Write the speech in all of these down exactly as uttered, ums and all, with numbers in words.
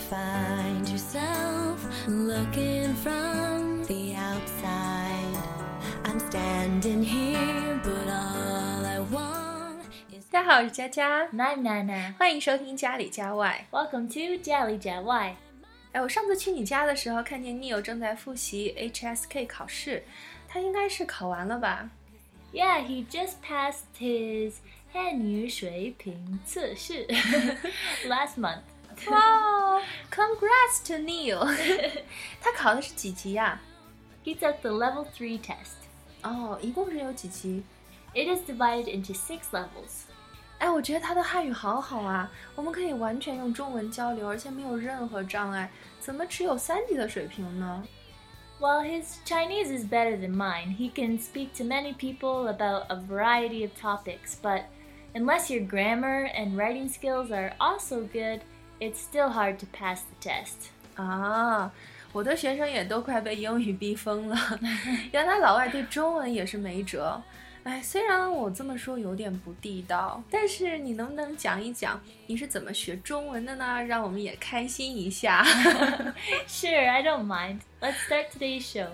find yourself looking from the outside. I'm standing here, but all I want is... 大家好，我是佳佳， I'm Nana， 欢迎收听家里家外。 Welcome to 家里家外。 哎，我上次去你家的时候，看见 Neil 正在复习 H S K 考试，他应该是考完了吧？ Yeah, he just passed his 汉语水平测试 last month. Wow, congrats to Neil 他考的是几级呀？ He took the level three test. 哦，一共是有几级？ It is divided into six levels. 哎，我觉得他的汉语好好啊，我们可以完全用中文交流，而且没有任何障碍，怎么只有三级的水平呢？ Well, his Chinese is better than mine. He can speak to many people about a variety of topics, but unless your grammar and writing skills are also good, it's still hard to pass the test. 啊，我的学生也都快被英语逼疯了，原来老外对中文也是没辙。哎，虽然我这么说有点不地道，但是你能不能讲一讲你是怎么学中文的呢？让我们也开心一下。 Sure, I don't mind. Let's start today's show.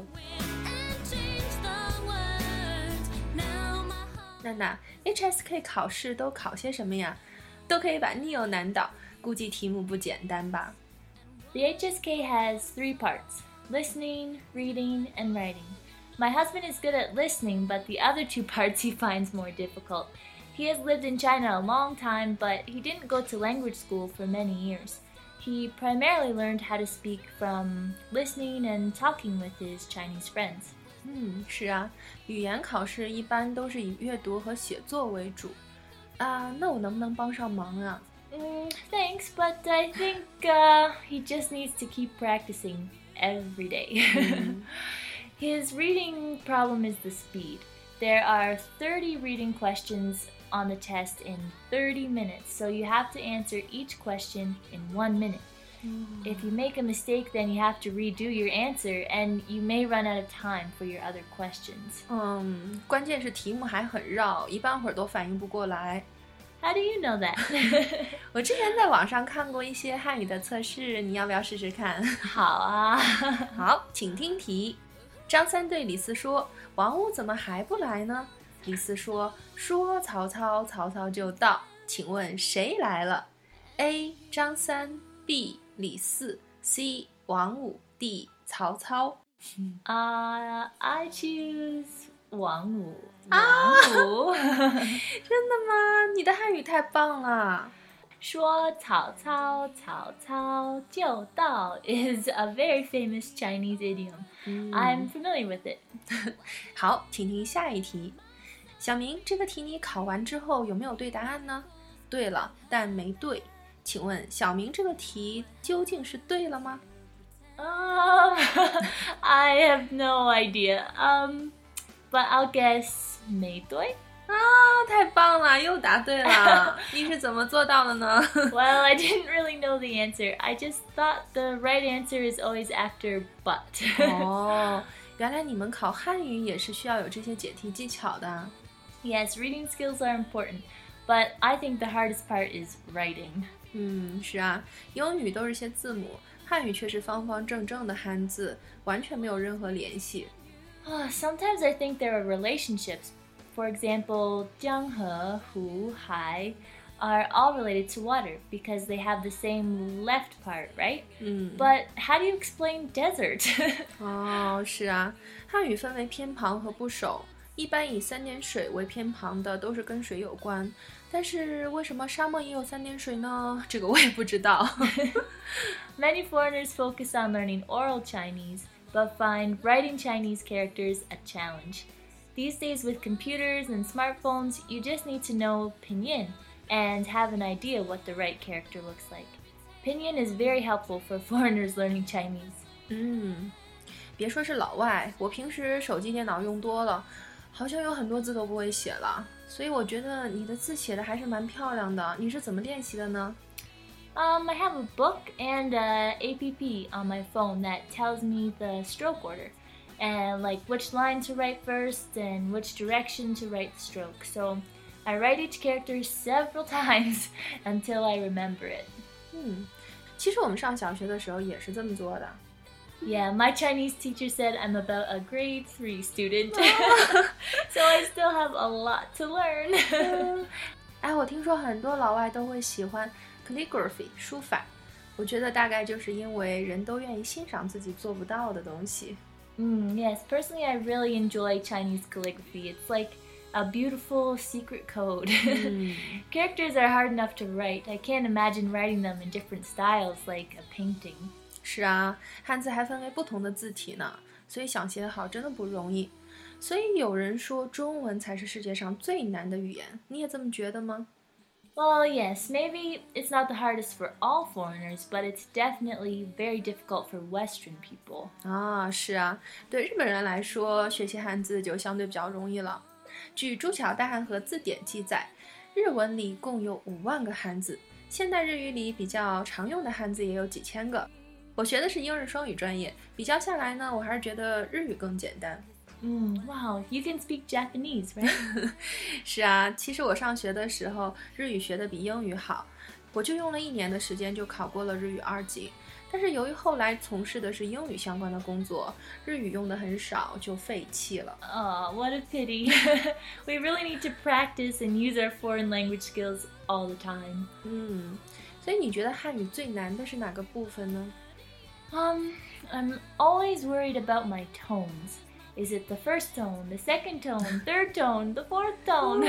娜娜 ，H S K 考试都考些什么呀？都可以把 Neil 难倒，估计题目不简单吧？ The H S K has three parts: listening, reading, and writing.My husband is good at listening, but the other two parts he finds more difficult. He has lived in China a long time, but he didn't go to language school for many years. He primarily learned how to speak from listening and talking with his Chinese friends. 嗯，是啊，语言考试一般都是以阅读和写作为主。啊，那我能不能帮上忙啊？ Mm, thanks, but I think uh, he just needs to keep practicing every day. His reading problem is the speed. There are thirty reading questions on the test in thirty minutes, so you have to answer each question in one minute. Mm. If you make a mistake, then you have to redo your answer, and you may run out of time for your other questions. 嗯，关键是题目还很绕，一半会儿都反应不过来。 How do you know that? 我之前在网上看过一些汉语的测试，你要不要试试看？ 好啊。 好，请听题。张三对李四说：“王五怎么还不来呢？”李四说：“说曹操，曹操就到。”请问谁来了 ？A. 张三 B. 李四 C. 王五 D. 曹操。 Uh, I choose 王五。 啊，真的吗？你的汉语太棒了。 说曹操，曹操就到 is a very famous Chinese idiom. Mm. I'm familiar with it. 好，请听下一题。小明，这个题你考完之后有没有对答案呢？对了，但没对。请问小明这个题究竟是对了吗？ Um, I have no idea. Um, but I'll guess 没对。 啊，太棒了，又答对了。你是怎么做到的呢？ Well, I didn't really know the answer. I just thought the right answer is always after but. 哦，原来你们考汉语也是需要有这些解题技巧的。 Yes, reading skills are important, but I think the hardest part is writing. 嗯，是啊，英语都是些字母，汉语却是方方正正的汉字，完全没有任何联系。 Sometimes I think there are relationships.For example, 江河, Hu, Hai are all related to water because they have the same left part, right? Mm. But how do you explain desert? 哦，是啊，汉语分为偏旁和部首，一般以三点水为偏旁的都是跟水有关。但是为什么沙漠也有三点水呢？这个我也不知道。 Many foreigners focus on learning oral Chinese, but find writing Chinese characters a challenge.These days with computers and smartphones, you just need to know pinyin and have an idea what the right character looks like. Pinyin is very helpful for foreigners learning Chinese. 嗯，别说是老外，我平时手机电脑用多了，好像有很多字都不会写了。所以我觉得你的字写的还是蛮漂亮的，你是怎么练习的呢？ Um, I have a book and a app on my phone that tells me the stroke order.And like which line to write first and which direction to write the stroke. So I write each character several times until I remember it. 嗯， 其实我们上小学的时候也是这么做的。 Yeah, my Chinese teacher said I'm about a grade three student. So I still have a lot to learn. 哎，我听说很多老外都会喜欢 calligraphy 书法，我觉得大概就是因为人都愿意欣赏自己做不到的东西。 Mm, yes, personally I really enjoy Chinese calligraphy. It's like a beautiful secret code. Mm. Characters are hard enough to write. I can't imagine writing them in different styles like a painting. 是啊，汉字还分为不同的字体呢，所以想写好真的不容易。所以有人说中文才是世界上最难的语言，你也这么觉得吗？ Well, yes, maybe it's not the hardest for all foreigners, but it's definitely very difficult for Western people. 啊，是啊，对日本人来说，学习汉字就相对比较容易了。据朱桥大汉和字典记载，日文里共有五万个汉字，现代日语里比较常用的汉字也有几千个。我学的是英日双语专业，比较下来呢，我还是觉得日语更简单。 Mm, wow, you can speak Japanese, right? 是啊，其实我上学的时候日语学的比英语好，我就用了一年的时间就考过了日语二级。但是由于后来从事的是英语相关的工作，日语用的很少，就废弃了。 Oh, what a pity. We really need to practice and use our foreign language skills all the time. 嗯，所以你觉得汉语最难的是哪个部分呢？ Um, I'm always worried about my tones. Is it the first tone, the second tone, third tone, the fourth tone?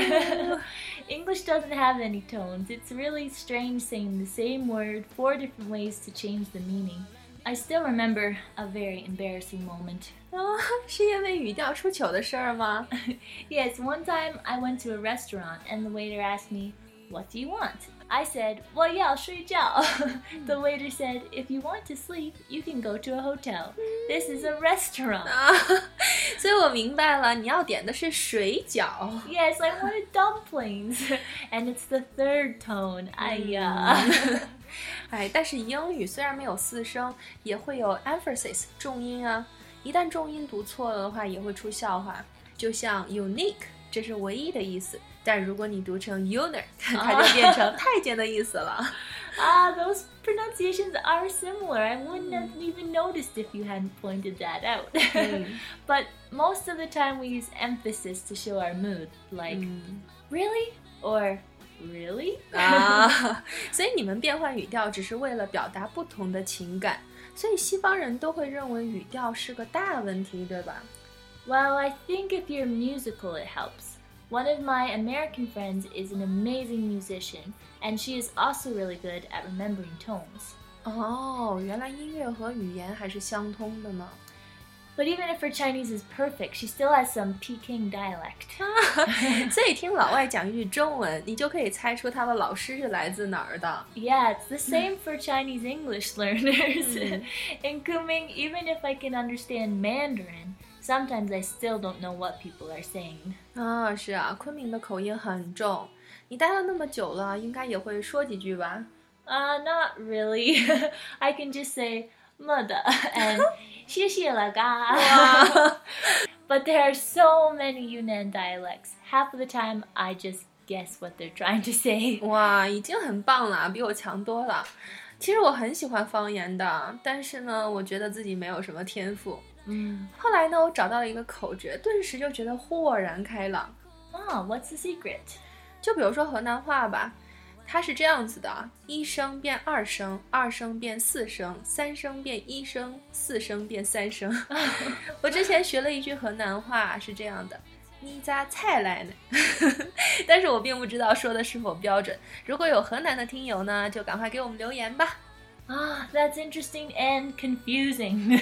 English doesn't have any tones. It's really strange saying the same word four different ways to change the meaning. I still remember a very embarrassing moment. 啊，是因为语调出糗的事儿吗？ Yes, one time I went to a restaurant and the waiter asked me, "What do you want?" I said, "Well, yeah, 睡觉." The waiter said, "If you want to sleep, you can go to a hotel. This is a restaurant." 啊，所以我明白了，你要点的是水饺。 Yes, I wanted dumplings. And it's the third tone. 哎呀。 哎，但是英语虽然没有四声，也会有 emphasis 重音啊。一旦重音读错了的话，也会出笑话。就像 unique， 这是唯一的意思，但如果你读成 unit， 它就变成太监的意思了。 Ah, those pronunciations are similar. I wouldn't have even noticed if you hadn't pointed that out. But most of the time we use emphasis to show our mood, like, really? Or, really? 啊，所以你们变换语调只是为了表达不同的情感，所以西方人都会认为语调是个大问题，对吧？ Well, I think if you're musical, it helps. One of my American friends is an amazing musician, and she is also really good at remembering tones. 哦，原来音乐和语言还是相通的呢。 But even if her Chinese is perfect, she still has some Peking dialect. 所以听老外讲一句中文，你就可以猜出他的老师是来自哪儿的。 Yeah, it's the same for Chinese English learners. In Kunming, even if I can understand Mandarin, sometimes I still don't know what people are saying. 啊，是啊，昆明的口音很重。你待了那么久了，应该也会说几句吧？ Uh, not really. I can just say "mother" and 谢谢了嘎. But there are so many Yunnan dialects. Half of the time, I just guess what they're trying to say. 哇，已经很棒了，比我强多了。其实我很喜欢方言的，但是呢，我觉得自己没有什么天赋。 Mm. 后来呢，我找到了一个口诀，顿时就觉得豁然开朗。 Oh, what's the secret? 就比如说河南话吧，它是这样子的：一声变二声，二声变四声，三声变一声，四声变三声。我之前学了一句河南话是这样的：你咋才来呢？但是我并不知道说的是否标准。如果有河南的听友呢，就赶快给我们留言吧。 Ah, that's interesting and confusing.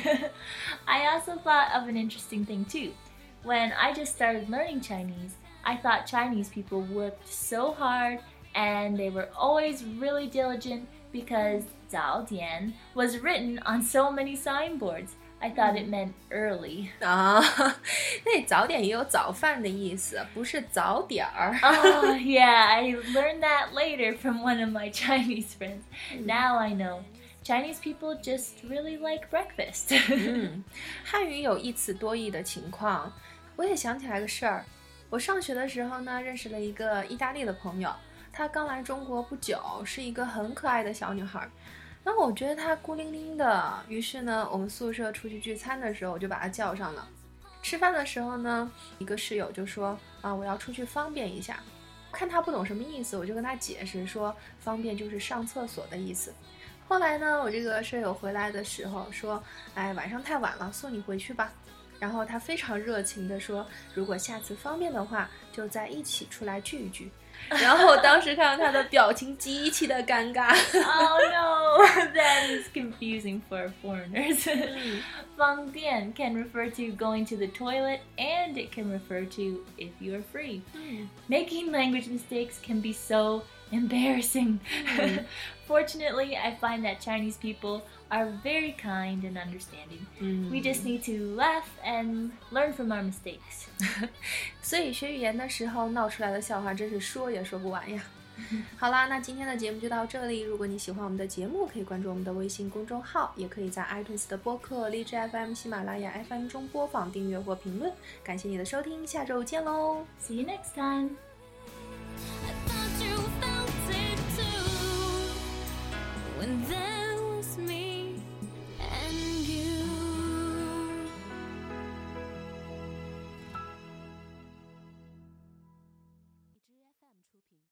I also thought of an interesting thing too. When I just started learning Chinese, I thought Chinese people worked so hard and they were always really diligent because 早点 was written on so many signboards. I thought it meant early. 啊，那早点也有早饭的意思，不是早点儿。 Oh, yeah, I learned that later from one of my Chinese friends. Now I know. Chinese people just really like breakfast. 嗯，汉语有一词多义的情况。我也想起来个事儿，我上学的时候呢，认识了一个意大利的朋友，她刚来中国不久，是一个很可爱的小女孩。 然后我觉得他孤零零的，于是呢，我们宿舍出去聚餐的时候，我就把他叫上了。吃饭的时候呢，一个室友就说啊，我要出去方便一下。看他不懂什么意思，我就跟他解释说，方便就是上厕所的意思。后来呢，我这个舍友回来的时候说，哎，晚上太晚了，送你回去吧。然后他非常热情地说，如果下次方便的话，就再一起出来聚一聚。然后我当时看到他的表情极其的尴尬。 Oh no, that is confusing for foreigners. 方便 can refer to going to the toilet, and it can refer to if you are free. Making language mistakes can be so embarrassing. Fortunately, I find that Chinese people are very kind and understanding. We just need to laugh and learn from our mistakes. 所以学语言的时候闹出来的笑话真是说也说不完呀。好啦，那今天的节目就到这里。如果你喜欢我们的节目，可以关注我们的微信公众号，也可以在 iTunes 的播客、荔枝 F M、喜马拉雅 F M 中播放、订阅或评论。感谢你的收听，下周见喽 See you next time.